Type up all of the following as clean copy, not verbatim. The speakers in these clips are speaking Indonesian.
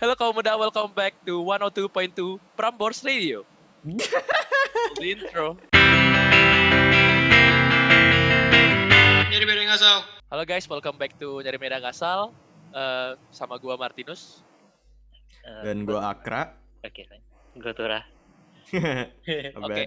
Halo kaum muda, welcome back to 102.2 Prambors Radio. The intro. Nyari beda ngasal. Halo guys, welcome back to Nyari Medan Ngasal. Sama gua Martinus. Dan gua Akra. Oke, gua Turah. Oke,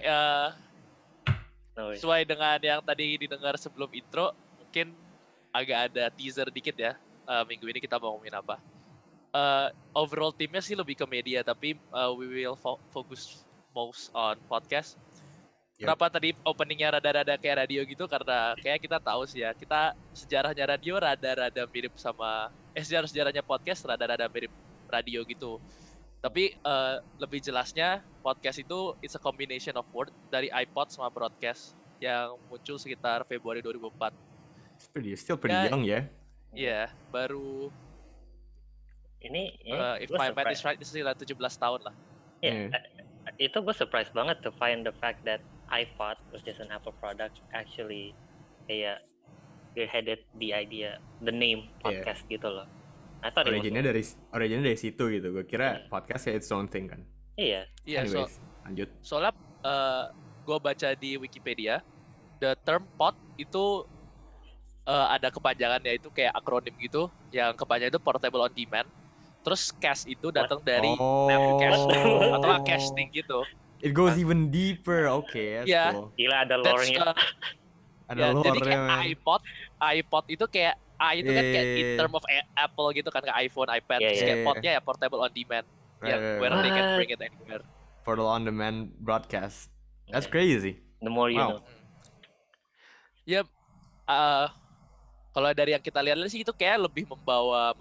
sesuai dengan yang tadi didengar sebelum intro, mungkin agak ada teaser dikit ya. Minggu ini kita mau ngomongin apa. Overall timnya sih lebih ke media, tapi we will focus most on podcast. Yep. Kenapa tadi openingnya rada-rada kayak radio gitu? Karena kayak kita tahu sih ya, kita sejarahnya radio rada-rada mirip sama sejarahnya podcast rada-rada mirip radio gitu. Tapi lebih jelasnya podcast itu it's a combination of word dari iPod sama broadcast yang muncul sekitar Februari 2004. Still pretty young ya. Iya, baru Ini if my math is right, ini sekitar 17 tahun lah. Itu gue surprise banget to find the fact that iPod, which is an Apple product, actually kayak spearheaded the idea, the name podcast gitu loh. I thought originnya dari situ gitu. Gue kira podcast ya its own thing kan. Iya. Anyways, lanjut. Soalnya gue baca di Wikipedia, the term pod itu ada kepanjangannya, itu kayak akronim gitu, yang kepanjangan itu portable on demand. Terus cast itu datang dari cast atau casting gitu. It goes even deeper, okay. Yeah. Cool. Gila ada lore-nya. Ada lore-nya. Jadi kayak iPod itu kayak itu kan kayak in term of Apple gitu kan, kayak iPhone, iPad. Terus kayak podnya ya portable on demand, where they can bring it anywhere. For the on-demand broadcast. That's crazy. The more you know. Ya, kalau dari yang kita lihat sih itu kayak lebih membawa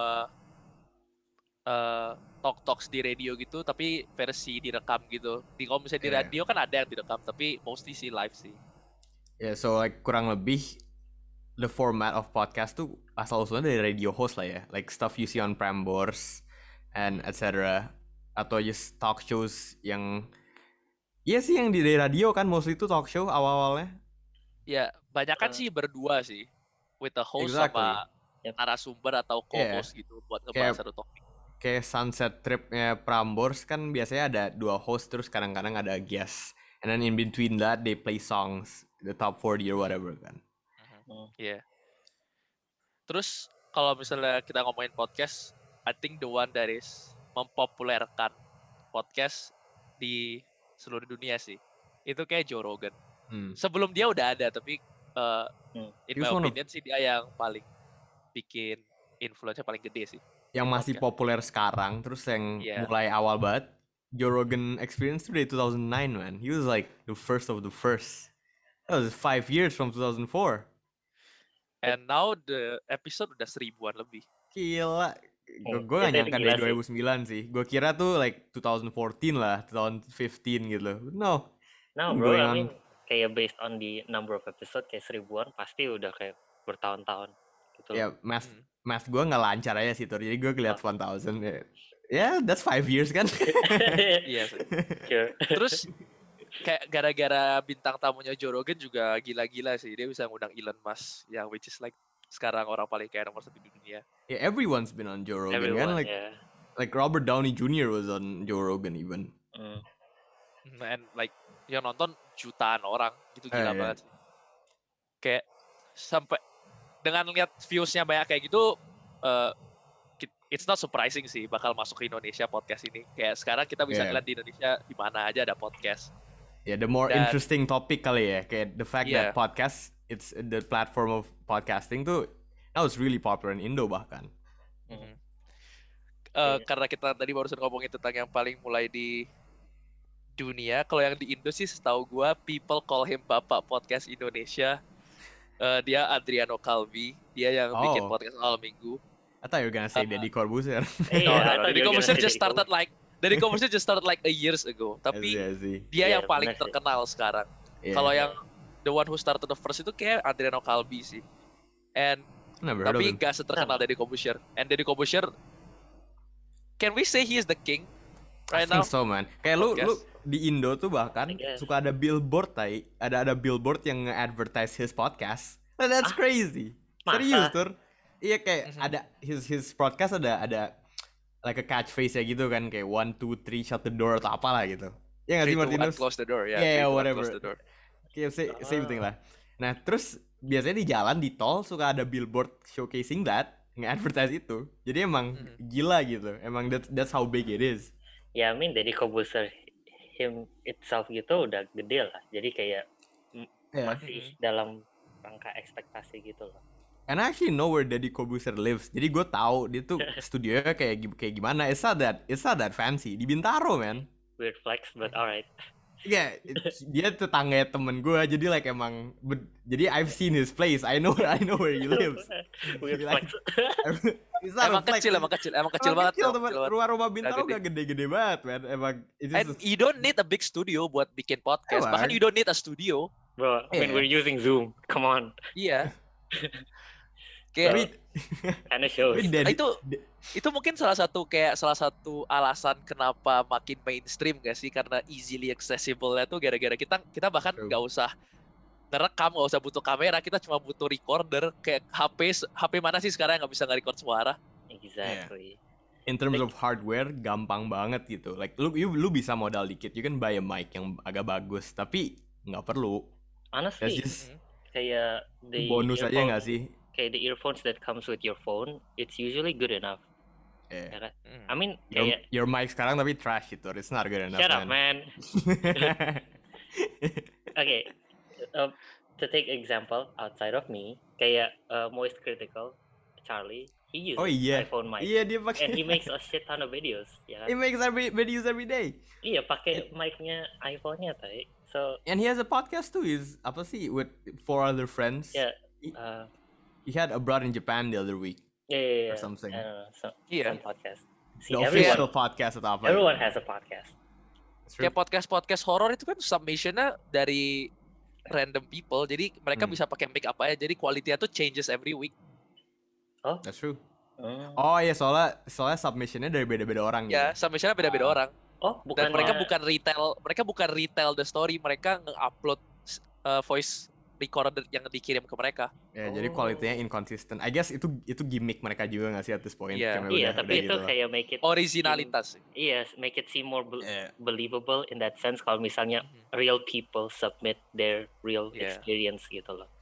talks di radio gitu, tapi versi direkam gitu. Kalau misalnya di radio kan ada yang direkam, tapi mostly sih live sih. So like kurang lebih the format of podcast tuh asal usulnya dari radio host lah ya, like stuff you see on Prambors and etc. Atau just talk shows yang sih yang dari radio kan, mostly itu talk show awal-awalnya. Ya, banyakan sih berdua sih, with the host sama narasumber atau co-host gitu buat ngebahas satu topik. Kayak Sunset Trip-nya Prambors kan biasanya ada 2 host, terus kadang-kadang ada guest. And then in between that they play songs, the top 40 or whatever kan. Iya. Terus kalau misalnya kita ngomongin podcast, I think the one that is mempopulerkan podcast di seluruh dunia sih, itu kayak Joe Rogan. Sebelum dia udah ada, tapi in my opinion sih dia yang paling bikin influence-nya paling gede sih. Yang masih populer sekarang, terus yang mulai awal banget, Joe Rogan Experience tuh dari 2009 man. He was like the first of the first. That was 5 years from 2004. And now the episode udah 1000-an lebih. Gila. Gue gak nyangka dari 2009 sih. Gue kira tuh like 2014 lah, 2015 gitu. No bro, I mean kayak based on the number of episode kayak 1000-an pasti udah kayak bertahun-tahun gitu. Ya, math gue gak lancar aja sih, jadi gue ngeliat 1000 ya. That's 5 years kan. Iya sih. Terus kayak gara-gara bintang tamunya Joe Rogan juga gila-gila sih. Dia bisa ngundang Elon Musk, yang which is like sekarang orang paling kaya nomor 1 di dunia. Yeah, everyone's been on Joe Rogan kan. Like Robert Downey Jr. was on Joe Rogan even. And like yang nonton jutaan orang gitu, gila banget sih. Kayak sampai dengan lihat views-nya banyak kayak gitu, it's not surprising sih bakal masuk ke Indonesia podcast ini. Kayak sekarang kita bisa ngeliat di Indonesia di mana aja ada podcast. The more interesting topic kali ya, kayak the fact that podcast, it's the platform of podcasting tuh now it's really popular in Indo bahkan. Karena kita tadi barusan ngomongin tentang yang paling mulai di dunia, kalau yang di Indo sih setahu gua people call him Bapak Podcast Indonesia. Dia Adriano Calvi, dia yang bikin podcast awal minggu. I thought you were gonna say Deddy Corbuzier. Deddy Corbuzier just started like a years ago. Tapi dia yang paling terkenal sekarang. Kalau yang the one who started the first itu kayak Adriano Calvi sih. Tapi gak seterkenal Deddy Corbuzier. And Deddy Corbuzier, can we say he is the king right now? I think so man. Kayak lu di Indo tuh bahkan suka ada billboard ada billboard yang nge-advertise his podcast. That's crazy. Serius tur. Iya kayak ada his podcast ada like a catchphrase ya gitu kan, kayak 1, 2, 3 shut the door atau apalah gitu. Ya nggak 3, sih 2, 1, Martinus? close the door. Ya, Yeah, 3, 2, 1, whatever. close the door. Kayak same thing lah. Nah terus biasanya di jalan di tol suka ada billboard showcasing that, nge-advertise itu. Jadi emang gila gitu. Emang that's how big it is. Ya, I mean Deddy Corbuzier him itself gitu udah gede lah. Jadi kayak masih dalam rangka ekspektasi gitu loh. And I actually know where Deddy Corbuzier lives. Jadi gue tahu dia tuh studionya kayak gimana. It's not that fancy. Di Bintaro, man. Weird flex, but alright. Yeah, dia tetangga temen gue. Jadi like emang, jadi I've seen his place. I know where he lives. Weird Like, flex. Emang kecil banget. Temen. Rumah Bintaro gak gede-gede banget, man. Emang. And you don't need a big studio buat bikin podcast. Bahkan you don't need a studio. Bro, when we're using Zoom, come on. Iya. Kayak Kinda shows. itu mungkin salah satu alasan kenapa makin mainstream gak sih, karena easily accessible-nya tuh gara-gara kita bahkan nggak usah ngerekam, nggak usah butuh kamera, kita cuma butuh recorder. Kayak HP mana sih sekarang yang nggak bisa nge-record suara? Exactly. In terms of hardware gampang banget gitu. Like lu bisa modal dikit, you can buy a mic yang agak bagus, tapi nggak perlu. Honestly, kayak the bonus aja nggak sih? Kayak the earphones that comes with your phone, it's usually good enough. Yeah. Ya kan? I mean, kayak your mic sekarang tapi trash itu, it's not good enough. Shut up, man. Okay, to take example outside of me, kayak Moist Critical, Charlie, he uses iPhone mic. Iya, dia pakai. And he makes a shit ton of videos. Ya kan? He makes videos every day. Iya, pakai mic-nya iPhone-nya, tay. So. And he has a podcast too. He's apa sih with 4 other friends. Yeah. He had abroad in Japan the other week. Yeah. Or something. Some podcast. See, the official podcast atau apa? Everyone has a podcast. Kayak podcast horor itu kan submissionnya dari random people, jadi mereka bisa pakai mic apa aja, jadi quality-nya tuh changes every week. Oh, that's true. Oh iya, soalnya submissionnya dari beda-beda orang. Ya, submissionnya beda-beda orang. Oh, bukan. Dan mereka bukan retail the story, mereka nge-upload voice recorder yang dikirim ke mereka. Ya, jadi kualitinya inconsistent. I guess itu gimmick mereka juga nggak sih at this point? Iya, tapi itu gitu kayak make it originalitas. Iya, make it seem more believable in that sense. Kalau misalnya real people submit their real experience gitu loh.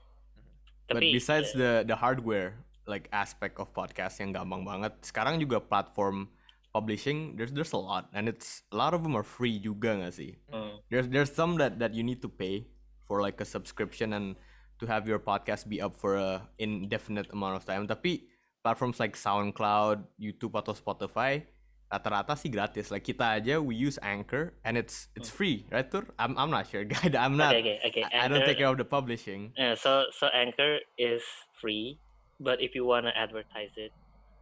But besides the hardware like aspect of podcast yang gampang banget, sekarang juga platform publishing there's a lot, and a lot of them are free juga nggak sih? There's some that you need to pay for like a subscription and to have your podcast be up for a indefinite amount of time. Tapi platforms like SoundCloud, YouTube atau Spotify rata-rata sih gratis. Like kita aja we use Anchor and it's free, right Tur? I'm not sure, guy. I'm not. Okay. I don't take care of the publishing. So Anchor is free, but if you wanna advertise it,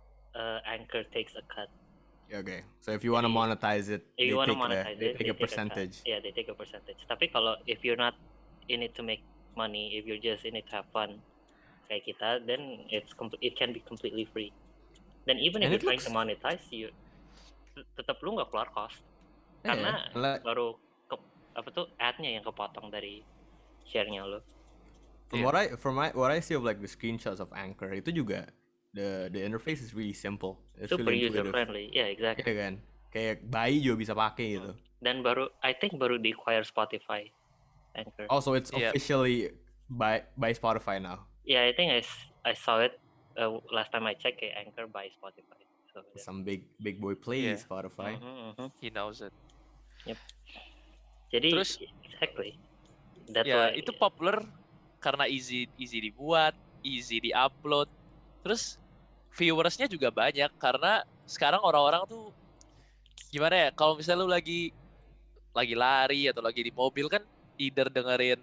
Anchor takes a cut. Okay, so if you wanna monetize it, they take a percentage. Yeah, they take a percentage. Tapi kalau if you're not in it to make money, if you're just in it to have fun kayak kita, then it can be completely free. Then even if you're trying to monetize, you tetap lu nggak keluar cost karena baru ad-nya yang kepotong dari share-nya lu. From what I see of like the screenshots of Anchor, itu juga the interface is really simple. It's super really user friendly. Yeah, exactly. Iya kan, kayak bayi juga bisa pakai gitu. Dan I think baru di acquire Spotify. Anchor. Also, it's officially by Spotify now. Yeah, I think I saw it last time I checked. Anchor by Spotify. So some big boy play Spotify. He knows it. Yep. Jadi terus exactly. That's why itu popular karena easy dibuat, easy di-upload. Terus viewersnya juga banyak karena sekarang orang-orang tuh gimana ya? Kalau misalnya lu lagi lari atau lagi di mobil kan, either dengerin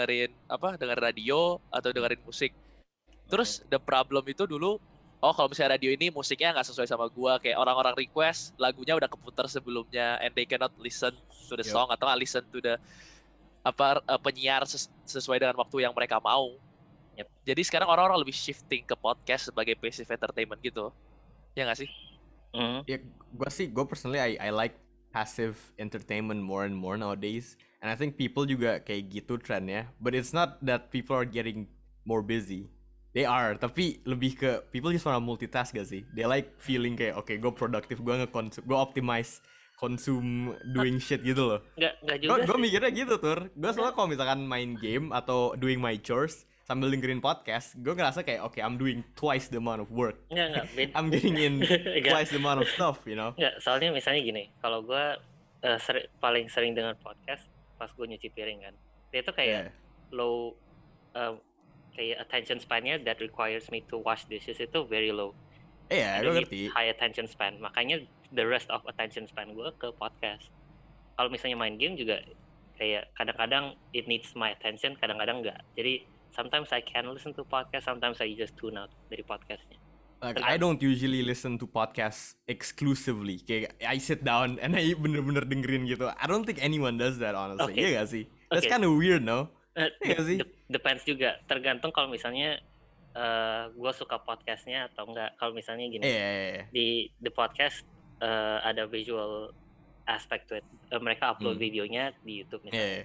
radio atau dengerin musik. Terus the problem itu dulu, kalau misalnya radio ini musiknya nggak sesuai sama gua, kayak orang-orang request lagunya udah keputar sebelumnya and they cannot listen to the song atau nggak listen to the penyiar sesuai dengan waktu yang mereka mau. Jadi sekarang orang-orang lebih shifting ke podcast sebagai passive entertainment gitu. Ya nggak sih? Ya, gue personally I like passive entertainment more and more nowadays. And I think people juga kayak gitu trendnya. But it's not that people are getting more busy. They are, tapi lebih ke people just wanna multitask gak sih? They like feeling kayak okay, gue produktif, gue optimize consume doing shit gitu loh. Nggak juga Gue sih. mikirnya gitu Tur. Gue soalnya kalau misalkan main game atau doing my chores sambil dengerin podcast, gue ngerasa kayak okay, I'm doing twice the amount of work. Nggak, I'm getting in Nggak. twice the amount of stuff, you know? Nggak, soalnya misalnya gini, kalau gue paling sering dengar podcast pas gue nyuci piring kan, dia tuh kayak low, kayak attention span-nya that requires me to wash dishes itu very low. Iya, gue ngerti. High attention span, makanya the rest of attention span gue ke podcast. Kalau misalnya main game juga kayak kadang-kadang it needs my attention, kadang-kadang enggak. Jadi sometimes I can listen to podcast, sometimes I just tune out dari podcastnya. Like I don't usually listen to podcasts exclusively. Kayak I sit down and I bener-bener dengerin gitu. I don't think anyone does that honestly. Okay. Iya gak sih? That's Okay. kind of weird, no? Iya gak sih? Depends juga, tergantung kalau misalnya gue suka podcastnya atau enggak. Kalau misalnya gini, di the podcast ada visual aspect to it. Mereka upload videonya di YouTube misalnya.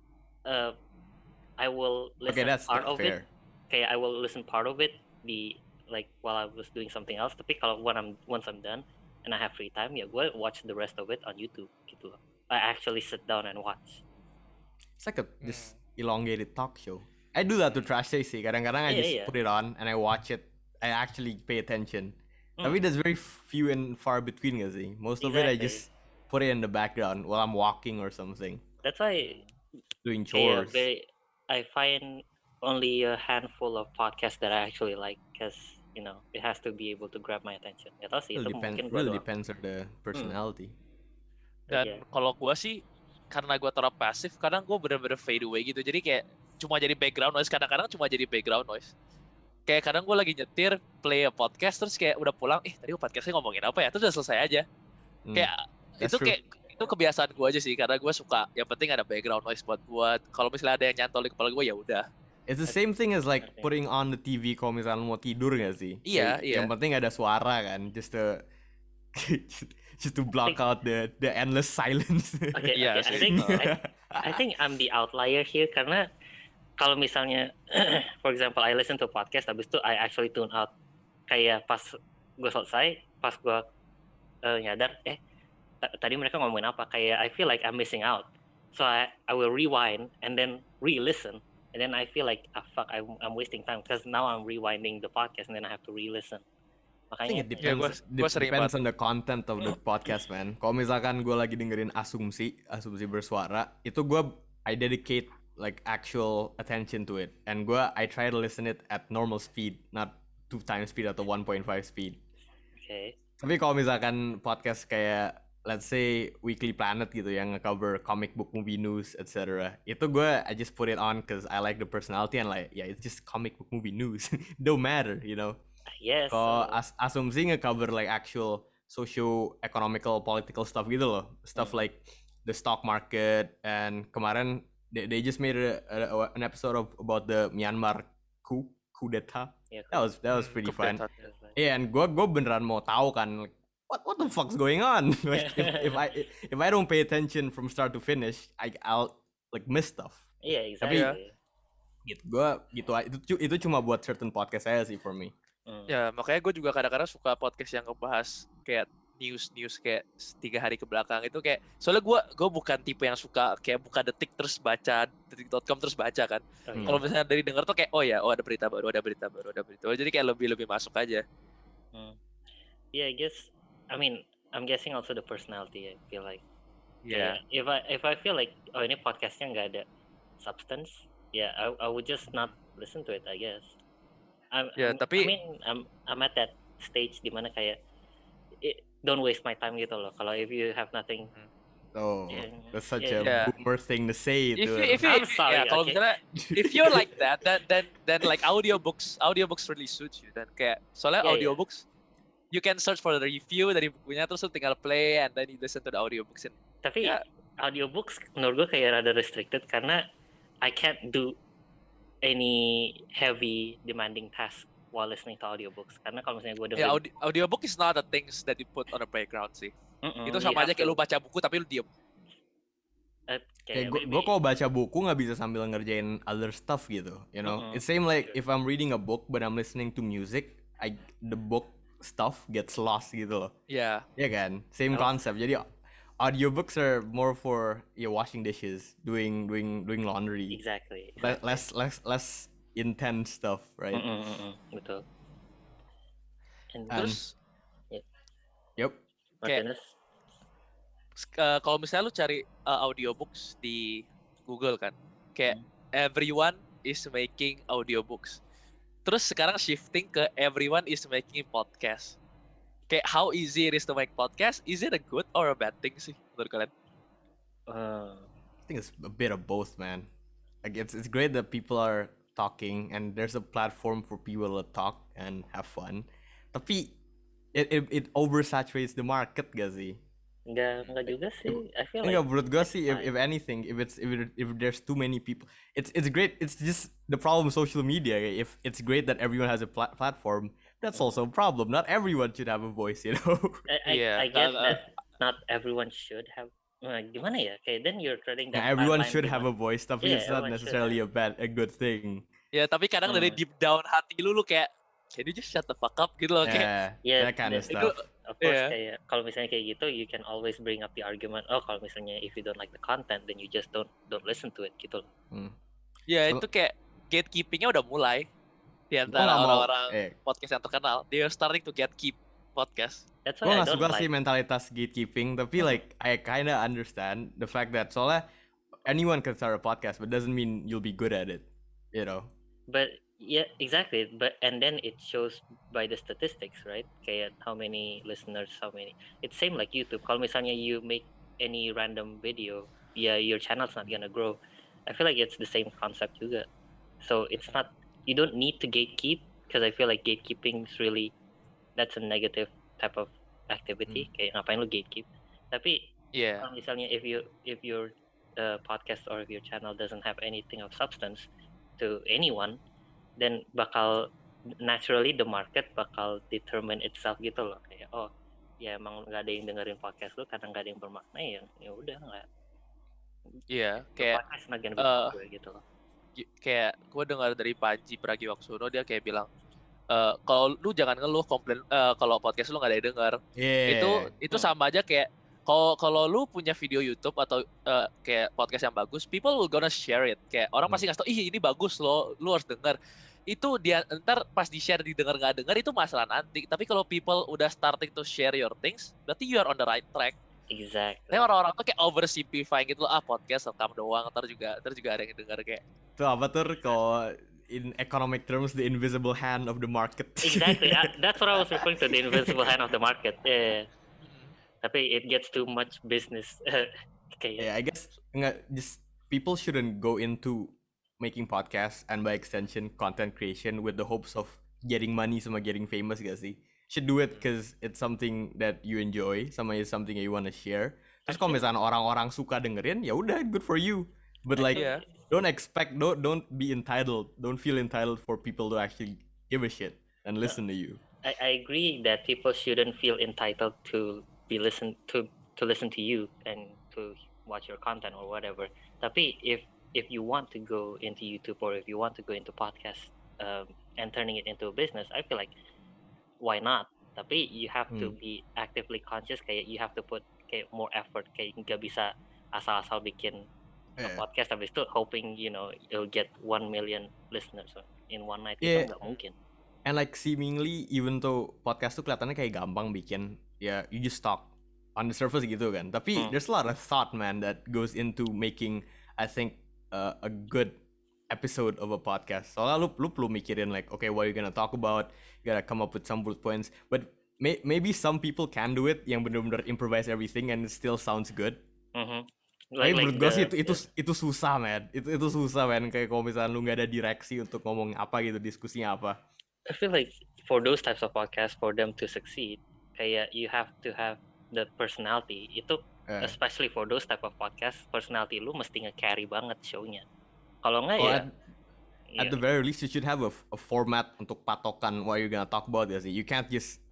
I will listen part of it. Kayak I will listen part of it di like while I was doing something else. Tapi kalau once I'm done and I have free time, ya gue watch the rest of it on YouTube gitu loh. I actually sit down and watch. It's like a just elongated talk show. I do that to Trash Day sih. Kadang-kadang I just put it on and I watch it. I actually pay attention. Tapi there's very few and far between gak sih? Most of it I just put it in the background while I'm walking or something. That's why doing chores. I find only a handful of podcasts that I actually like because you know it has to be able to grab my attention. Gak tau sih, itu mungkin really depends on the personality. Dan kalau gue sih karena gue terlalu pasif, kadang gue bener-bener fade away gitu. Jadi kayak cuma jadi background noise, kadang-kadang cuma jadi background noise. Kayak kadang gue lagi nyetir, play a podcast, terus kayak udah pulang, tadi podcastnya ngomongin apa ya? Terus udah selesai aja. Kayak itu kebiasaan gue aja sih, karena gue suka, yang penting ada background noise buat kalau misalnya ada yang nyantol di kepala gue ya udah. It's the same thing as like putting on the TV kalau misalnya mau tidur gak sih? Iya. Yang penting ada suara kan, just to block out the endless silence. Okay. I think I'm the outlier here karena kalau misalnya for example I listen to podcast habis itu I actually tune out. Kayak pas gue selesai, pas gue nyadar tadi mereka ngomongin apa, kayak I feel like I'm missing out. So I will rewind and then re-listen and then I feel like fuck I'm wasting time because now I'm rewinding the podcast and then I have to re-listen. Makanya depends on the content of the podcast, man. Kalau misalkan gue lagi dengerin asumsi bersuara, itu I dedicate like actual attention to it, and I try to listen it at normal speed, not 2 times speed atau 1.5 speed. Okay. Tapi kalau misalkan podcast kayak let's say Weekly Planet gitu yang nge-cover comic book movie news etc. Itu I just put it on because I like the personality and like it's just comic book movie news. Don't matter, you know. Yes. Kalau asumsi nge-cover like actual socio-economical political stuff gitu loh, stuff like the stock market, and kemarin they just made an episode about the Myanmar coup d'etat. Yeah, that was pretty fun. And gue beneran mau tahu kan, like, what the fuck's going on? Like, if I don't pay attention from start to finish, I'll like miss stuff. Yeah, exactly. Tapi itu cuma buat certain podcast saya sih for me. Ya makanya gue juga kadang-kadang suka podcast yang ngebahas kayak news kayak 3 hari ke belakang itu kayak, soalnya gue bukan tipe yang suka kayak buka detik terus baca detik.com terus baca kan. Kalau misalnya dari denger tuh kayak ada berita baru jadi kayak lebih masuk aja. Yeah, I guess I'm guessing also the personality. I feel like if I feel like ini podcastnya nggak ada substance, I would just not listen to it, I guess. I'm at that stage dimana kayak don't waste my time gitu loh. Kalau if you have nothing. That's such a boomer thing to say. I'm sorry. Kalau misalnya if you're like that, then like audiobooks really suits you. Dan kayak soalnya audiobooks you can search for the review dari bukunya terus lu tinggal play and then you listen to the audiobooks. Tapi audiobooks menurut gue kayak rada restricted karena I can't do any heavy demanding task while listening to audiobooks. Karena kalau misalnya gue dengerin audiobook is not the things that you put on the background sih. Itu sama aja kayak lu baca buku tapi lu diem. Kayak Kayak gue maybe. kalau baca buku nggak bisa sambil ngerjain other stuff gitu, you know. It's same like if I'm reading a book but I'm listening to music, the book stuff gets lost gitu loh. Ya, Ya kan, same Oh. concept. Jadi audiobooks are more for washing dishes, doing laundry, Exactly. less intense stuff, right? Betul. And And terus yep, kayak Martinez. kalau misalnya lu cari audiobooks di Google kan, kayak everyone is making audiobooks. Terus sekarang shifting ke everyone is making podcast. Kayak how easy it is to make podcast? Is it a good or a bad thing sih menurut kalian? I think it's a bit of both, man. Like it's great that people are talking and there's a platform for people to talk and have fun. Tapi it oversaturates the market gak sih? Enggak juga sih. I feel Enggak, like menurut gue it's sih fine. if anything, if there's too many people, it's great. It's just the problem with social media. If it's great that everyone has a platform, that's also a problem. Not everyone should have a voice, you know. I get that not everyone should have. Gimana ya? Okay, then you're treading Nah, that everyone fine line should have a gimana? voice, tapi Yeah, it's not everyone should necessarily have. a good thing. Ya, tapi kadang dari deep down hati lu kayak can you just shut the fuck up gitu loh kayak. Yeah, that kind of itu stuff. of course Yeah. kayak kalau misalnya kayak gitu you can always bring up the argument, oh kalau misalnya if you don't like the content then you just don't listen to it gitu loh. Ya, So- itu kayak gatekeeping-nya udah mulai di antara nggak mau- orang-orang podcast yang terkenal. They are starting to gatekeep podcast. That's Gue why I gak don't suka like. sih mentalitas gatekeeping, tapi like I kinda understand the fact that soalnya anyone can start a podcast, but doesn't mean you'll be good at it, you know. But yeah, exactly. But and then it shows by the statistics, right? Kayak how many listeners, how many. It's same like YouTube. Kalau misalnya you make any random video, yeah, your channel's not gonna grow. I feel like it's the same concept juga. So it's not. You don't need to gatekeep because I feel like gatekeeping is really that's a negative type of activity. Kayak ngapain lu gatekeep? Tapi Yeah. kalau misalnya if your podcast or if your channel doesn't have anything of substance to anyone, then bakal naturally the market bakal determine itself gitu loh, kayak oh ya emang nggak ada yang dengerin podcast lu karena nggak ada yang bermakna, ya udah nggak. Iya, The kayak podcast not gonna be popular gitu loh. kayak gue dengar dari Panji Pragiwaksono, dia kayak bilang kalau lu jangan ngeluh komplain kalau podcast lu nggak ada yang denger. Yeah. Itu sama aja kayak kalau lu punya video YouTube atau kayak podcast yang bagus, people will gonna share it. Kayak orang pasti ngasih tau, ih ini bagus loh, lu harus denger. Itu dia ntar pas di share didengar nggak denger itu masalah nanti. Tapi kalau people udah starting to share your things, berarti you are on the right track. Exactly. Tapi orang-orang tuh kayak oversimplifying gitu loh, podcast rekam doang, ntar juga ada yang denger kayak. Itu apa tuh kalau in economic terms the invisible hand of the market. Exactly. That's what I was referring to, the invisible hand of the market. Yeah. Tapi it gets too much business. Kayak. Yeah, I guess just people shouldn't go into making podcasts and by extension content creation with the hopes of getting money sama getting famous gak sih? Should do it because it's something that you enjoy, sama is something that you want to share. Terus kalau misalnya orang-orang suka dengerin, ya udah good for you. But like Yeah. don't be entitled. Don't feel entitled for people to actually give a shit and listen to you. I agree that people shouldn't feel entitled to be listen to listen to you and to watch your content or whatever. Tapi if you want to go into YouTube or if you want to go into podcast and turning it into a business, I feel like why not? Tapi you have to be actively conscious. Kayak you have to put kayak more effort. Kayak nggak bisa asal-asal bikin a podcast habis itu hoping you'll get 1 million listeners in one night. Itu nggak mungkin. And like seemingly even though podcast tuh kelihatannya kayak gampang bikin, ya you just talk on the surface gitu kan. Tapi there's a lot of thought, man, that goes into making, I think, a good episode of a podcast. Soalnya lu perlu mikirin like, okay, what are you gonna talk about? You gotta come up with some bullet points. But maybe some people can do it, yang bener-bener improvise everything and it still sounds good. Tapi menurut gue sih itu susah, man. Itu susah, man. Kayak kalau misalnya lu nggak ada direksi untuk ngomong apa gitu, diskusinya apa. I feel like for those types of podcasts, for them to succeed, kayak you have to have the personality. Itu especially for those type of podcasts, personality lu mesti nge-carry banget show-nya. Kalau nggak at the very least you should have a format untuk patokan what you're gonna talk about ya sih. You can't just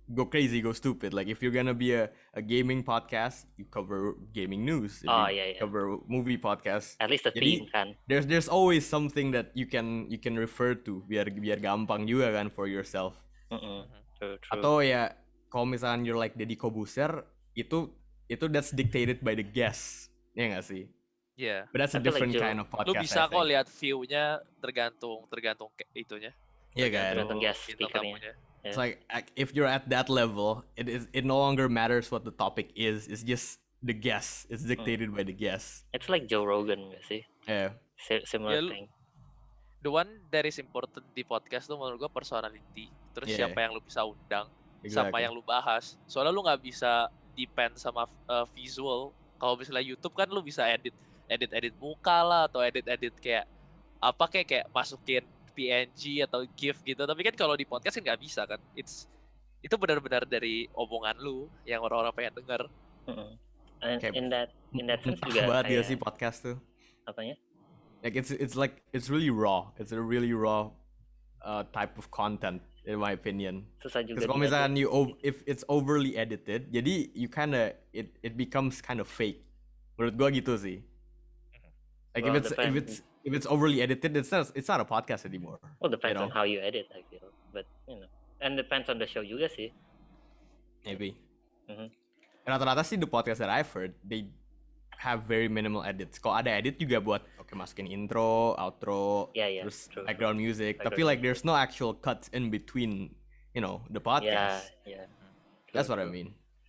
go crazy, go stupid. Like if you're gonna be a gaming podcast, you cover gaming news. If Oh, you yeah, yeah. cover movie podcast, At least the jadi theme kan. there's always something that you can refer to biar gampang juga kan for yourself. True. Atau ya kalau misalkan you're like Deddy Kobuser, itu that's dictated by the guest. Ya nggak sih? Yeah. But that's a I feel like different Joe- kind of podcast. Lu bisa I kok think. lihat view-nya tergantung itunya. Iya kan? Tergantung guest bintang speakernya. tamunya. It's like if you're at that level, it no longer matters what the topic is. It's just the guest. It's dictated by the guest. It's like Joe Rogan nggak sih? Yeah. Similar Ya, thing. The one that is important di podcast tuh menurut gua personality. Terus Yeah. siapa yang lu bisa undang, Exactly. sama yang lu bahas. Soalnya lu nggak bisa depend sama visual. Kalau misalnya YouTube kan lu bisa edit muka lah, atau edit kayak apa kayak masukin PNG atau GIF gitu. Tapi kan kalau di podcast kan nggak bisa kan. Itu benar-benar dari omongan lu yang orang-orang pengen denger. And Kayak in that sense Mentah juga banget ya kayak sih podcast tuh. apanya? Like it's really raw. It's a really raw type of content in my opinion. Susah juga. Because kalau diedit. misalkan if it's overly edited, jadi you kinda it becomes kind of fake. Menurut gua gitu sih. Like Well, if it's overly edited, it's not a podcast anymore. Well, depends you on know. how you edit, I feel. But and depends on the show juga sih. Maybe. Mhm. Rata-rata sih the podcast that I've heard, they have very minimal edits. Kalau ada edit juga buat masukin intro, outro, Yeah, terus true. background music. Background Tapi like there's no actual cuts in between, the podcast. Yeah. That's True, what I true. mean.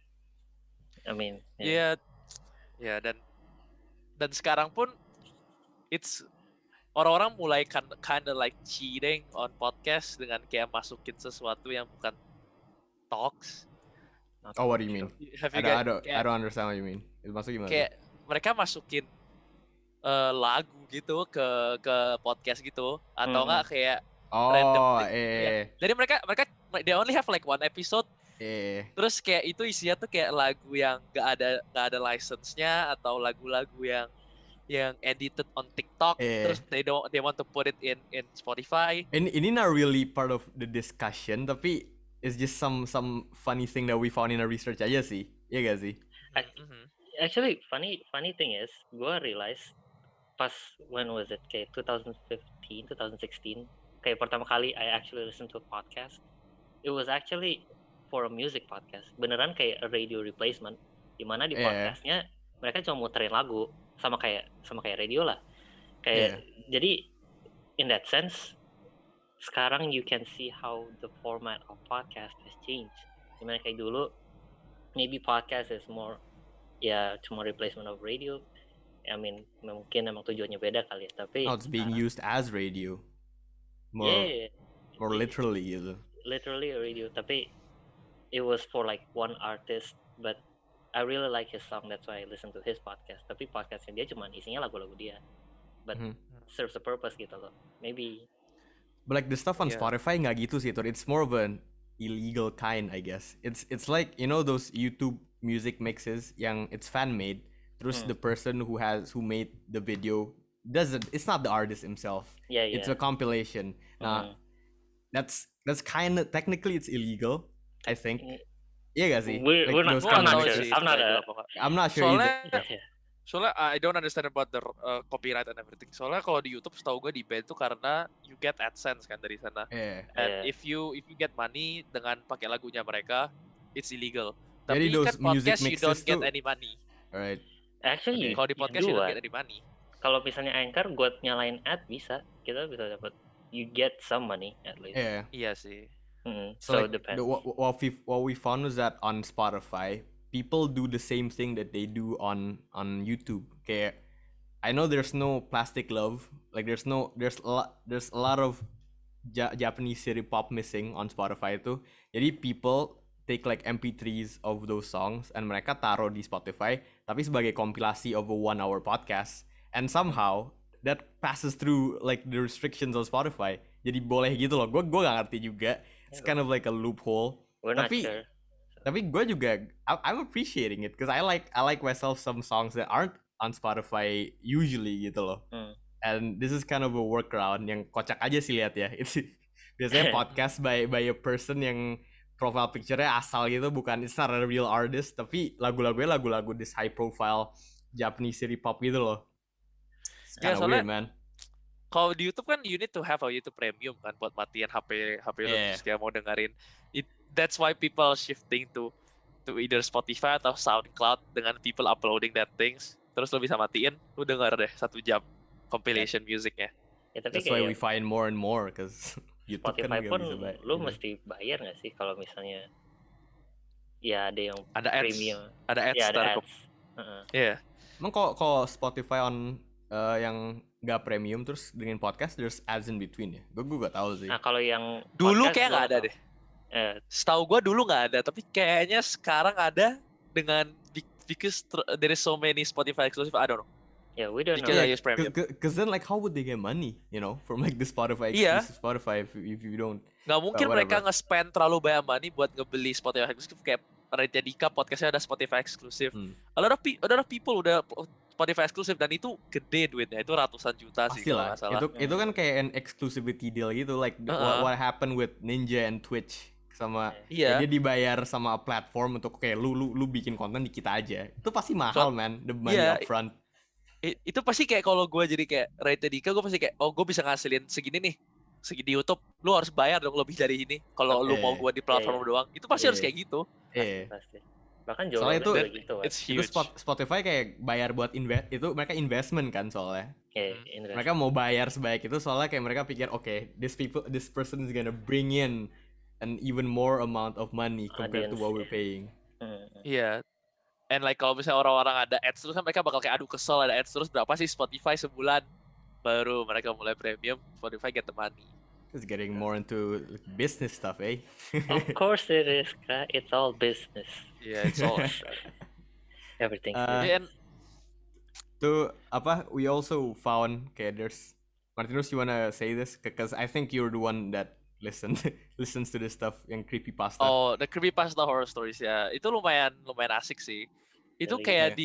I mean, Iya, ya dan sekarang pun it's orang-orang mulai kinda like cheating on podcast dengan kayak masukin sesuatu yang bukan talks. not Oh, what do you sure. mean? Have I you guys don't understand what you mean. Itu maksud gimana? kayak mereka masukin lagu gitu ke podcast gitu atau enggak kayak random Oh, thing. Jadi mereka they only have like one episode. Terus Terus kayak itu isinya tuh kayak lagu yang nggak ada license-nya atau lagu-lagu yang edited on TikTok. Terus they want to put it in Spotify. ini not really part of the discussion, tapi it's just some funny thing that we found in our research aja sih. Iya gak sih? Actually, funny thing is, gue realize pas when was it? Kayak 2015, 2016. Kayak pertama kali I actually listened to a podcast. It was actually for a music podcast. Beneran kayak a radio replacement. Dimana di podcastnya mereka cuma muterin lagu sama kayak radio lah. Kayak jadi in that sense sekarang you can see how the format of podcast has changed. Dimana kayak dulu maybe podcast is more cuma replacement of radio. I mean mungkin emang tujuannya beda kali ya, tapi it's being used as radio. More literally gitu. Literally a radio, tapi it was for like one artist, but I really like his song, that's why I listen to his podcast. Tapi podcastnya dia cuma isinya lagu-lagu dia, but serves a purpose gitu loh. Maybe. But like the stuff on Spotify nggak gitu sih, it's more of an illegal kind, I guess. It's like those YouTube music mixes yang it's fan made. Terus the person who made the video it's not the artist himself. Yeah. It's a compilation. Nah, that's kind of technically it's illegal, I think. Iya gak sih? We're not. I'm not sure either. Soalnya I don't understand about the copyright and everything. Soalnya kalau di YouTube setahu gue di ban itu karena you get AdSense kan dari sana. And if you get money dengan pakai lagunya mereka, it's illegal. Tapi Jadi kan podcast you don't get any money. Alright. Actually, kalau di podcast you don't get any money. Kalau misalnya Anchor gue nyalain ad kita bisa dapat. You get some money at least. Iya sih. So like, depends. What we found was that on Spotify, people do the same thing that they do on YouTube. Kayak, I know there's no Plastic Love. Like there's a lot of Japanese city pop missing on Spotify itu. Jadi people take like MP3s of those songs and mereka taruh di Spotify, tapi sebagai kompilasi of a 1-hour podcast. And somehow that passes through like the restrictions on Spotify. Jadi boleh gitu loh. Gue gak ngerti juga. It's kind of like a loophole. We're not sure. Tapi gue juga I'm appreciating it because I like myself some songs that aren't on Spotify usually gitu loh. And this is kind of a workaround yang kocak aja sih lihat ya. It's biasanya podcast by a person yang profile picture-nya asal gitu, bukan it's not a real artist, tapi lagu-lagunya lagu-lagu this high profile Japanese city pop gitu loh. It's Ya, kinda soalnya weird, man. kalau di YouTube kan you need to have a YouTube Premium kan buat matiin HP lu Yeah. terus kayak mau dengerin. That's why people shifting to either Spotify atau SoundCloud dengan people uploading that things. Terus lu bisa matiin, lu denger deh 1 jam compilation musicnya. Ya tapi That's why kayak we find more and more, cause YouTube kan Spotify nggak pun bisa bayar. lu mesti bayar nggak sih kalau misalnya ya ada yang Ada ads, premium, ada ads, ya ada ntar ads. Heeh. Iya. Emang kalau Spotify on yang nggak premium terus dengan podcast there's ads in between ya? Gue gak tahu sih. Nah kalau yang Dulu podcast kayak gua nggak ada tahu. deh. Setahu gue dulu nggak ada, tapi kayaknya sekarang ada dengan because there is so many Spotify exclusive. I don't know. Ya we don't know. Because I use premium. Cause then like how would they get money, you know, from like the Spotify Iya. exclusive Spotify if you don't. Nggak mungkin whatever. mereka nge-spend terlalu banyak money buat ngebeli Spotify exclusive kayak Raditya Dika podcastnya ada Spotify exclusive. A lot of people udah Spotify exclusive dan itu gede duitnya, itu ratusan juta sih Pasti kalau lah. nggak salah. Itu kan kayak an exclusivity deal gitu, like what happened with Ninja and Twitch sama Iya. dia dibayar sama platform untuk kayak lu bikin konten di kita aja. Itu pasti mahal, man. The money Iya. upfront. Itu pasti kayak kalau gue jadi kayak Raditya Dika, gue pasti kayak gue bisa ngasilin segini nih, segi di YouTube, lu harus bayar dong lebih dari ini. Kalau lu mau gue di platform doang, itu pasti harus kayak gitu. Pasti. Bahkan Soalnya jualan itu gitu kan. It's Itu huge. Spotify kayak bayar buat itu mereka investment kan soalnya. Invest. Mereka mau bayar sebaik itu soalnya kayak mereka pikir this person is gonna bring in an even more amount of money compared to Audience, what we're paying. Iya. And like kalau misalnya orang-orang ada ads terus kan mereka bakal kayak aduh kesel ada ads terus berapa sih Spotify sebulan, baru mereka mulai premium, Spotify get the money. It's getting more into like, business stuff, eh? Of course it is, Kak. It's all business. Yeah, it's all Everything's and Tuh apa? We also found kayak there's Martinus, you wanna say this? Because I think you're the one that listens to this stuff yang creepypasta. oh, the creepypasta horror stories ya. Itu lumayan asik sih. Itu Really? kayak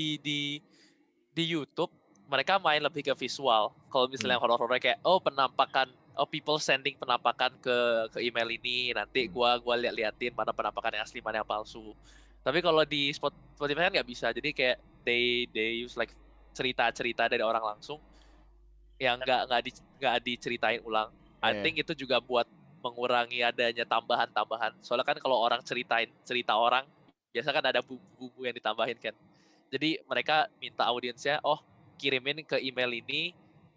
di YouTube mereka main lebih ke visual. Kalau misalnya horror-horror kayak penampakan, people sending penampakan ke email ini, nanti gua liatin mana penampakan yang asli mana yang palsu. Tapi kalau di Spotify kan nggak bisa. Jadi kayak they use like cerita-cerita dari orang langsung yang nggak diceritain ulang. I think itu juga buat mengurangi adanya tambahan-tambahan. Soalnya kan kalau orang cerita orang, biasa kan ada bumbu yang ditambahin kan. Jadi mereka minta audiensnya, kirimin ke email ini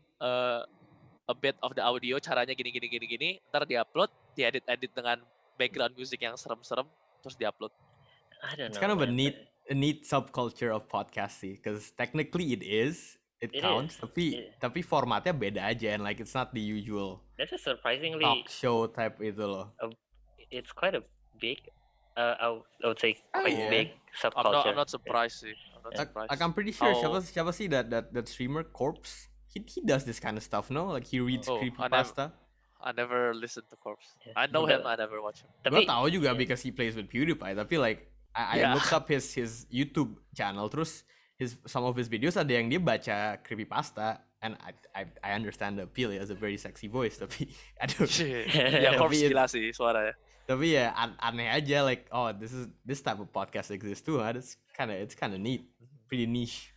a bit of the audio, caranya gini, ntar diupload, diedit dengan background music yang serem-serem, terus diupload. I don't know. It's kind of a man. neat subculture of podcast sih, because technically it counts, tapi formatnya beda aja, and like it's not the usual That's a surprisingly talk show type itu loh. it's quite a big I would say quite yeah. big subculture. I'm not surprised sih. I'm not surprised. Like I'm pretty sure How- siapa sih that streamer Corpse, he does this kind of stuff, no? Like he reads creepypasta. I never listened to Corpse. Yeah. I know him, I never watch him. Gue tahu juga because he plays with PewDiePie, tapi like I Yeah. looked up his YouTube channel, terus some of his videos ada yang dia baca creepypasta, and I understand the appeal. He has a very sexy voice, tapi aduh, Ya Corpse Tapi gila sih suaranya. tapi ya aneh aja, like this type of podcast exists too, huh? It's kind of neat, pretty niche.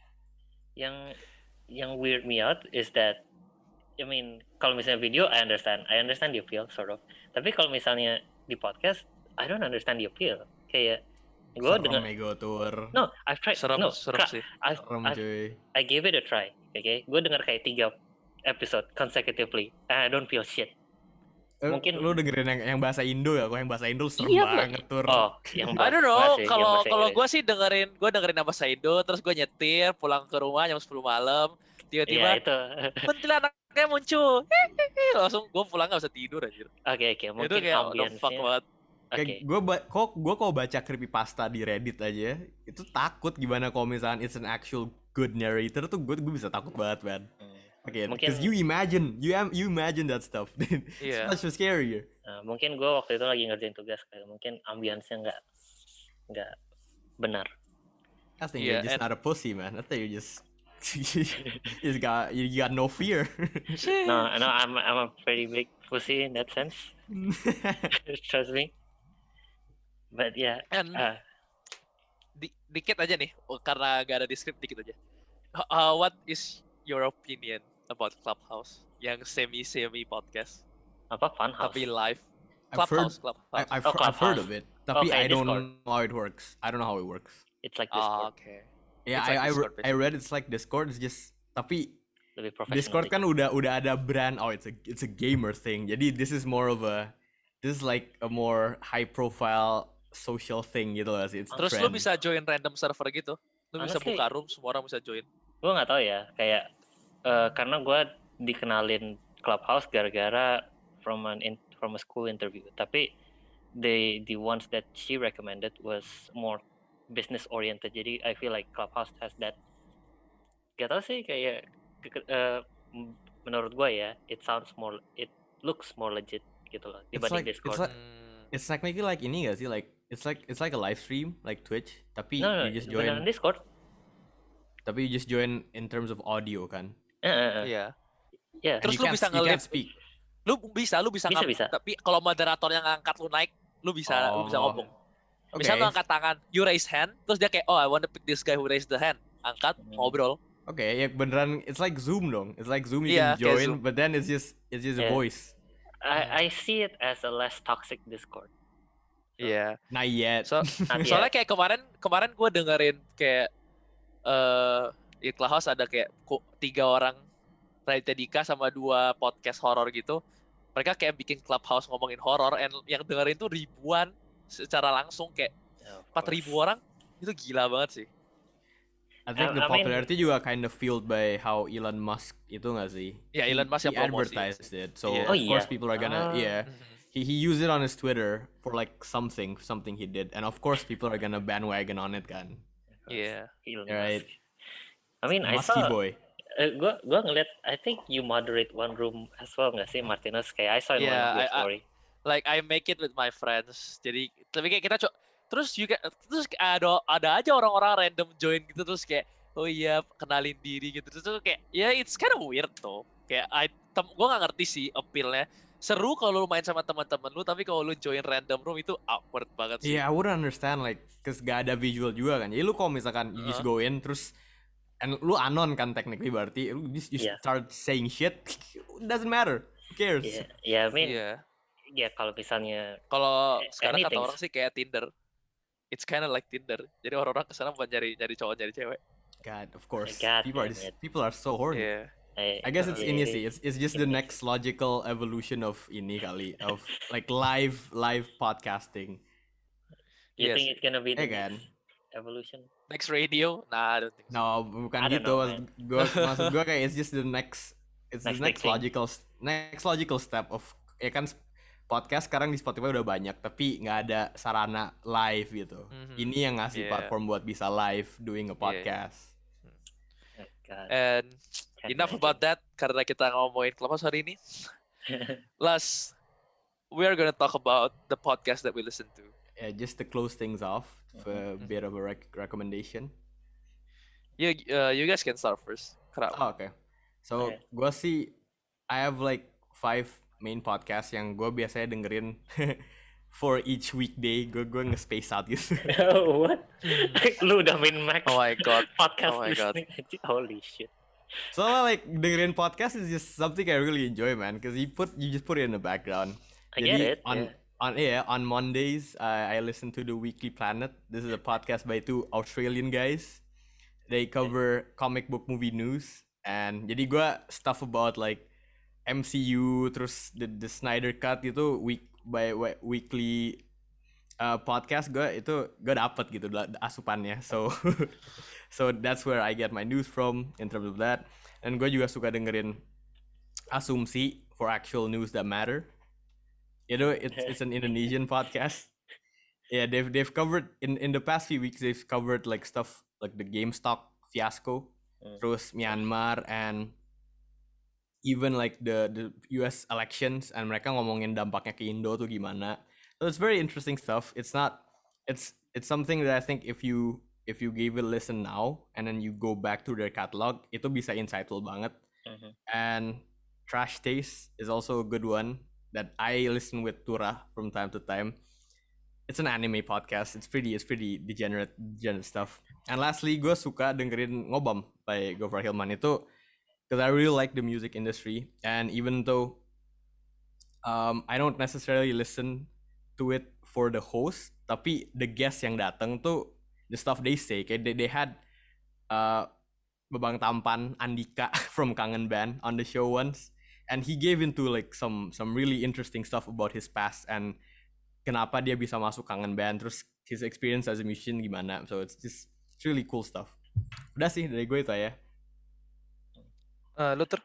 Yang weird me out is that I mean kalau misalnya video I understand the appeal sort of. Tapi kalau misalnya di podcast I don't understand the appeal. Kayak gue dengar Ego tour. no I've tried Serem no sih. Serem, cuy. I gave it a try. Okay, gue dengar kayak 3 episode consecutively and I don't feel shit. Mungkin- lu dengerin yang bahasa Indo ya? Kalau yang bahasa Indo serem Iya, banget tur. Oh, yang I don't know, bahasa- yang kalau bahasa gue sih dengerin nama Saido, terus gue nyetir pulang ke rumah jam 10 malam, Iya tiba-tiba itu. kuntilanaknya muncul, langsung gue pulang gak bisa tidur anjir. Oke, Itu mungkin kayak what the fuck ambience-nya. banget. Oke. Kayak gue kalau baca creepypasta di Reddit aja, itu takut gimana kalau misalnya it's an actual good narrator tuh gue bisa takut banget, man. Okay, Mungkin- because you imagine that stuff. Iya. It's much scarier. Mungkin gue waktu itu lagi ngerjain tugas kayak mungkin ambience-nya nggak benar. I think Yeah, you're just and- not a pussy, man. I think you just you got no fear. No, I'm a pretty big pussy in that sense. Trust me. But yeah, And dikit aja nih, karena gak ada di script, dikit aja. What is your opinion about Clubhouse yang semi podcast apa Funhouse? tapi live? I've heard, Clubhouse. I've Clubhouse. heard of it, tapi Okay, I don't Discord. know how it works. I don't know how it works. It's like Discord. Okay. Yeah, It's like Discord, I read it's like Discord. It's just tapi Lebih profesional. Discord kan udah ada brand. Oh, it's a gamer thing. Jadi this is like a more high profile social thing gitu lah sih. It's Terus trend. lu bisa join random server gitu. Lu bisa Honestly, buka room, semua orang bisa join. gue nggak tahu ya, kayak karena gue dikenalin Clubhouse gara-gara from a school interview. Tapi the ones that she recommended was more business oriented. Jadi I feel like Clubhouse has that. Gak tau sih, kayak menurut gue ya, it looks more legit gitu loh dibanding Discord. It's technically like ini gak sih, like it's like a live stream like Twitch, tapi No, you just join. beneran Discord. Tapi you just join in terms of audio kan. Iya. Yeah. Terus you lu bisa you can't nge-live. speak. Lu bisa Bisa. tapi kalau moderatornya ngangkat lu naik, lu bisa ngomong. Okay. Misal lu angkat tangan, you raise hand, terus dia kayak, oh I want to pick this guy who raised the hand. Angkat, ngobrol. Okay, ya beneran, it's like Zoom dong. It's like Zoom, you Yeah, can join, Zoom. but then it's just a voice. I see it as a less toxic Discord. Iya. Not yet. Soalnya kayak kemarin gue dengerin kayak di Clubhouse ada kayak 3 orang, Raditya Dika sama 2 podcast horor gitu. Mereka kayak bikin Clubhouse ngomongin horor, and yang dengerin tuh ribuan secara langsung, kayak 4.000 orang. Itu gila banget sih. I think the popularity juga kind of fueled by how Elon Musk itu nggak sih? Yeah, Elon Musk yang promosi. advertised it, so Yeah. of course people are gonna Mhm. He used it on his Twitter for like something he did, and of course people are gonna bandwagon on it kan. Iya. Elon Right. Musk. I mean, I Musky saw. boy. Gue ngeliat. I think you moderate one room as well nggak sih, Martinez? Kayak I saw in one of your story. Like I make it with my friends. Jadi tapi kayak kita terus ada aja orang-orang random join gitu, terus kayak oh iya kenalin diri gitu, terus kayak ya it's kind of weird tuh. Kayak gue nggak ngerti sih appeal-nya. Seru kalau lu main sama teman-teman lu, tapi kalau lu join random room itu awkward banget sih. Yeah, I wouldn't understand like, cause gak ada visual juga kan. Jadi lu kalau misalkan you just go in terus, and lu anon kan technically, berarti lu just start saying shit, it doesn't matter. Who cares? Yeah, I mean, Iya. kalau misalnya sekarang kata anything. orang sih kayak Tinder. It's kind of like Tinder. Jadi orang-orang kesana bukan nyari cowok, nyari cewek. God, of course. God People are so horny. Yeah. I guess it's ini sih. It's just the next logical evolution of ini kali, of like live podcasting. You think it's gonna be the kan? next evolution? Next radio? Nah, I don't think so. No, bukan gitu. Maksud gue kayak it's just the next logical step of, ya kan, podcast sekarang di Spotify udah banyak, tapi nggak ada sarana live gitu. Ini yang ngasih platform buat bisa live doing a podcast. And enough about that, karena kita ngomongin Clubhouse hari ini. Last, we are gonna talk about the podcast that we listen to. Yeah, just to close things off, a bit of a recommendation. You guys can start first. Oh, okay. So, gue sih, I have like 5 main podcast yang gue biasanya dengerin for each weekday. Gue nge-space out gitu. What? Lu udah main max? Oh my god. Podcast Oh my god. Holy shit. So like dengerin podcast is just something I really enjoy, man, because you just put it in the background. I get it. On Mondays I listen to the Weekly Planet. This is a podcast by 2 Australian guys. They cover comic book movie news, and jadi gue stuff about like MCU, terus the Snyder Cut itu weekly podcast gue dapet gitu asupannya. So that's where I get my news from in terms of that. And gue juga suka dengerin Asumsi for actual news that matter. You know, it's an Indonesian podcast. Yeah, they've covered in the past few weeks. They've covered like stuff like the GameStop fiasco, terus Myanmar, and even like the US elections, and mereka ngomongin dampaknya ke Indo tuh gimana. So it's very interesting stuff. It's something that I think if you give it a listen now and then you go back to their catalog, itu bisa insightful banget. And Trash Taste is also a good one that I listen with Tura from time to time. it's an anime podcast. It's pretty degenerate stuff. And lastly, gue suka dengerin Ngobam by Gofar Hilman itu because I really like the music industry, and even though I don't necessarily listen to it for the host, tapi the guests yang datang tuh the stuff they say, kayak they had Babang Tampan Andika from Kangen Band on the show once, and he gave into like some really interesting stuff about his past and kenapa dia bisa masuk Kangen Band, terus his experience as a musician gimana. So it's really cool stuff. Udah sih dari gue itu ya. Lu ter?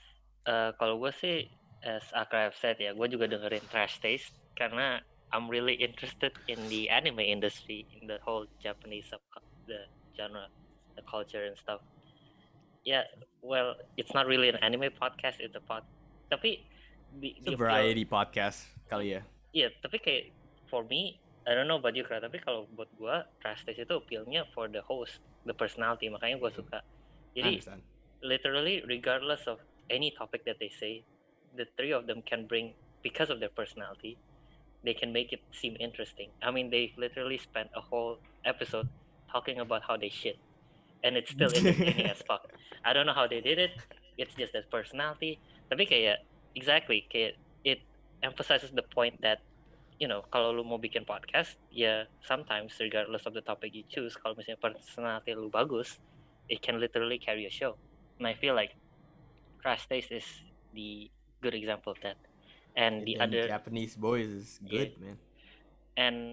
Kalau gue sih, as Akra have said ya, gue juga dengerin Trash Taste karena I'm really interested in the anime industry, in the whole Japanese the genre, the culture and stuff. Yeah, well, it's not really an anime podcast, it's a tapi It's a variety podcast kali ya. Iya, tapi kayak for me, I don't know about you, Kra, tapi kalau buat gue, Trash Taste itu appeal-nya for the host, the personality, makanya gue suka. Jadi, literally, regardless of any topic that they say, the three of them can bring, because of their personality, they can make it seem interesting. I mean, they literally spent a whole episode talking about how they shit. And it's still entertaining as fuck. I don't know how they did it. It's just their personality. Tapi kayak, exactly, kayak it emphasizes the point that, you know, kalau lu mau bikin podcast, ya sometimes regardless of the topic you choose, kalau misalnya personality lu bagus, it can literally carry a show. And I feel like Trash Taste is the good example of that. And the other Japanese boys is good, man. And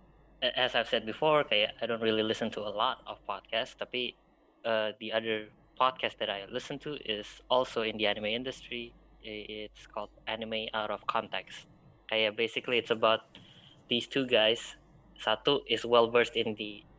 as I've said before, kayak I don't really listen to a lot of podcasts, tapi the other podcast that I listen to is also in the anime industry. It's called Anime Out of Context. Kayak basically it's about these two guys. Satu is well versed in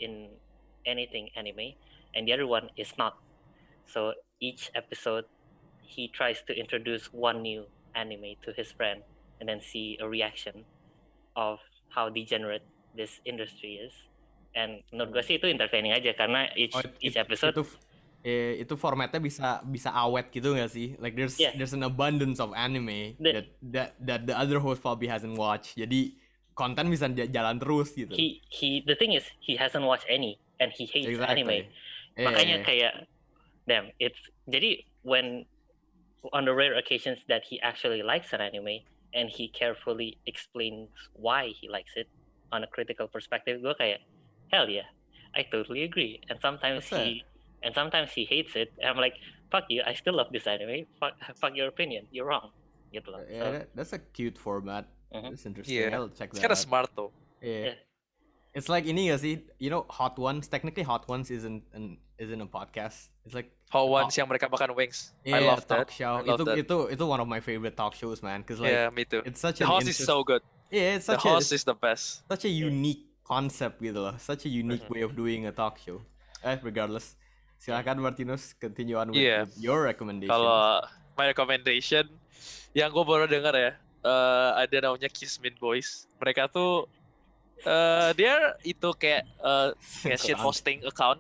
anything anime, and the other one is not. So each episode, he tries to introduce one new anime to his friend, and then see a reaction of how degenerate this industry is. And menurut gue sih itu entertaining aja karena each episode itu formatnya bisa awet gitu nggak sih? Like there's an abundance of anime that the other host probably hasn't watched. Jadi konten bisa jalan terus gitu. The thing is he hasn't watched any and he hates anime. Makanya kayak damn, it's jadi when on the rare occasions that he actually likes an anime and he carefully explains why he likes it on a critical perspective, gue kayak hell yeah, I totally agree. And sometimes he hates it, and I'm like, fuck you, I still love this anime. Fuck your opinion, you're wrong. Gitu loh. Yeah, that's a cute format. That's interesting. Yeah. I'll check that. It's kind of smart though. Yeah. It's like ini gak sih? You know, Hot Ones. Technically, Hot Ones isn't a podcast. It's like Hot Ones yang mereka makan wings. Yeah, I love talk that. show. Itu one of my favorite talk shows, man. Cause like yeah, me too. It's such the host is so good. Yeah, it's the host is the best. Such a unique concept gitu loh. Such a unique way of doing a talk show. Regardless, silakan Martinus continue on with your recommendation. Kalau my recommendation yang gue baru dengar ya, ada namanya Kismin Boys. Mereka tuh dia itu kayak shit posting account,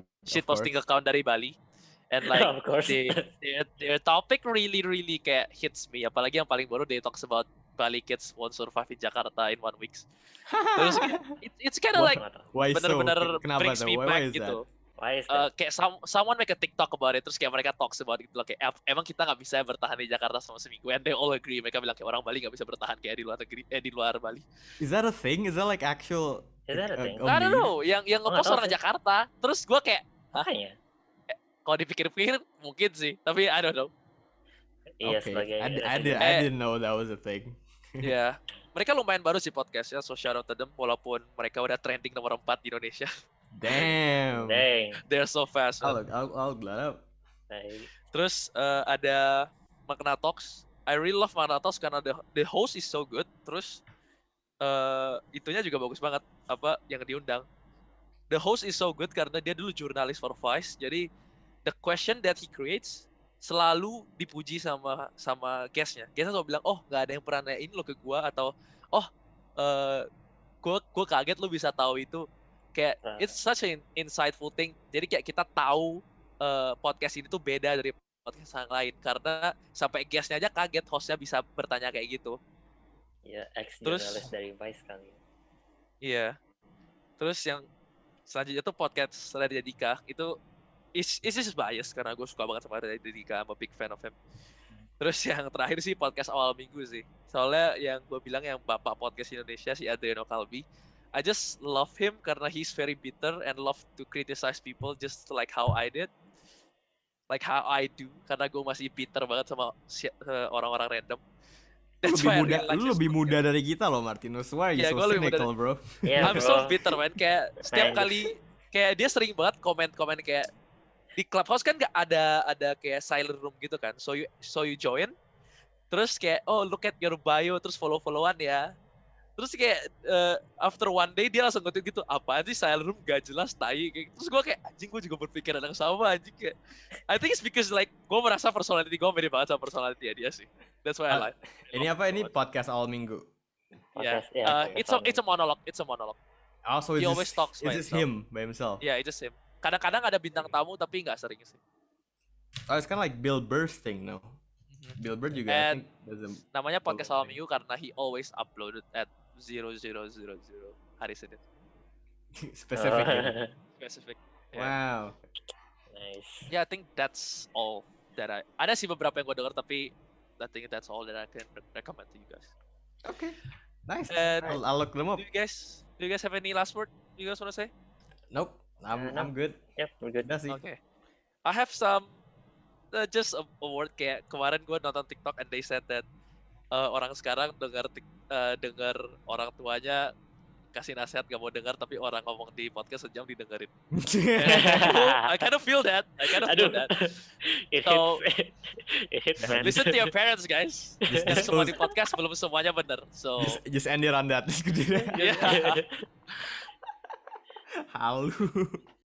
dari Bali. And like their topic really kayak hits me. Apalagi yang paling baru, they talks about Bali kids won't survive in Jakarta in 1 week. Terus it's kind of like benar-benar brings me back gitu. Why is that? Kayak someone make a TikTok about it, terus kayak mereka talks about gitu loh, kayak emang kita nggak bisa bertahan di Jakarta selama seminggu, and they all agree. Mereka bilang kayak orang Bali nggak bisa bertahan kayak di luar negeri, di luar Bali. Is that a thing? Is that like actual? Is that a thing? I don't know. Yang ngepost orang Jakarta, terus gue kayak, makanya. Kalau dipikir-pikir mungkin sih, tapi I don't know. Iya, okay. sebagai I didn't know that was a thing. Iya. Mereka lumayan baru sih podcastnya, so shout out to them, walaupun mereka udah trending nomor 4 di Indonesia. Damn. They're so fast. I'll look that up. Terus ada Magna Talks. I really love Magna Talks karena the host is so good. Terus itunya juga bagus banget, apa yang diundang. The host is so good karena dia dulu jurnalis for Vice. Jadi the question that he creates selalu dipuji sama guestnya. Guestnya selalu bilang, oh nggak ada yang pernah nanyain lo ke gua, atau oh gua kaget lo bisa tahu itu. Kayak it's such an insightful thing. Jadi kayak kita tahu podcast ini tuh beda dari podcast yang lain karena sampai guestnya aja kaget hostnya bisa bertanya kayak gitu. Ya, ex-jurnalis dari Vice kali. Iya. Terus yang selanjutnya tuh podcast Raditya Dika itu is just bias karena gue suka banget sama Raditya Dika, I'm a big fan of him. Terus yang terakhir sih podcast awal minggu sih. Soalnya yang gue bilang yang bapak podcast Indonesia si Adriano Kalbi, I just love him karena he's very bitter and love to criticize people just like how I did. Like how I do, karena gue masih bitter banget sama orang-orang random. That's why I really like Lu his lebih muda podcast. dari kita loh, Martinus. Why are you Iya, so gua lebih muda cynical, bro? Iya, I'm bro. so bitter man, kayak setiap Nice. kali kayak dia sering banget komen-komen kayak di Clubhouse kan nggak ada kayak silent room gitu kan, so you join, terus kayak oh look at your bio, terus follow-followan ya, terus kayak after one day dia langsung nge-tweet gitu, apaan sih silent room gak jelas tai kayak, terus gue kayak anjing gue juga berpikiran yang sama anjing kayak, I think it's because like gue merasa personality gue mirip banget sama personality dia sih, that's why I like. Ini apa ini podcast awal minggu? Yeah, Podcast, ya, it's a monologue, Oh, so He it's always just, talks by it's just himself. him by himself. Yeah, it's just him. Kadang-kadang ada bintang tamu tapi nggak sering sih. Oh, it's kind of like Bill Burr's thing, no? Bill Burr juga I And think does a namanya podcast awal Okay. minggu karena he always uploaded at 0000 hari Senin. specific. ya. Specific. Yeah. Wow. Nice. Yeah, I think that's all that ada sih beberapa yang gue denger tapi I think that's all that I can recommend to you guys. Okay. Nice. And I'll look them up. Do you guys have any last word you guys want to say? Nope. I'm No. good. Yep, we're good. Udah sih. Okay. I have some just a word kayak kemarin gue nonton TikTok and they said that orang sekarang dengar orang tuanya kasih nasihat gak mau dengar tapi orang ngomong di podcast sejam didengerin. I kind of feel that. Aduh. It So, hits. It hits, man. Listen to your parents guys. Yang semua di podcast belum semuanya benar. So just end it on that. yeah. Halu.